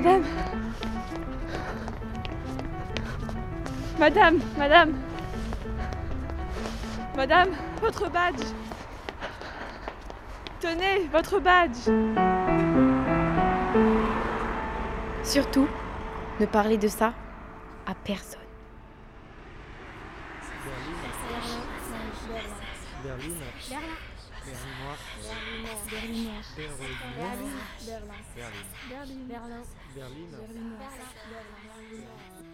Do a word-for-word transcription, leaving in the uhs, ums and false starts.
Madame. Madame, madame. Madame, votre badge. Tenez, votre badge. Surtout, ne parlez de ça à personne. Berlin. Berlin. Berlin. Berlin. Berlin. Berlin.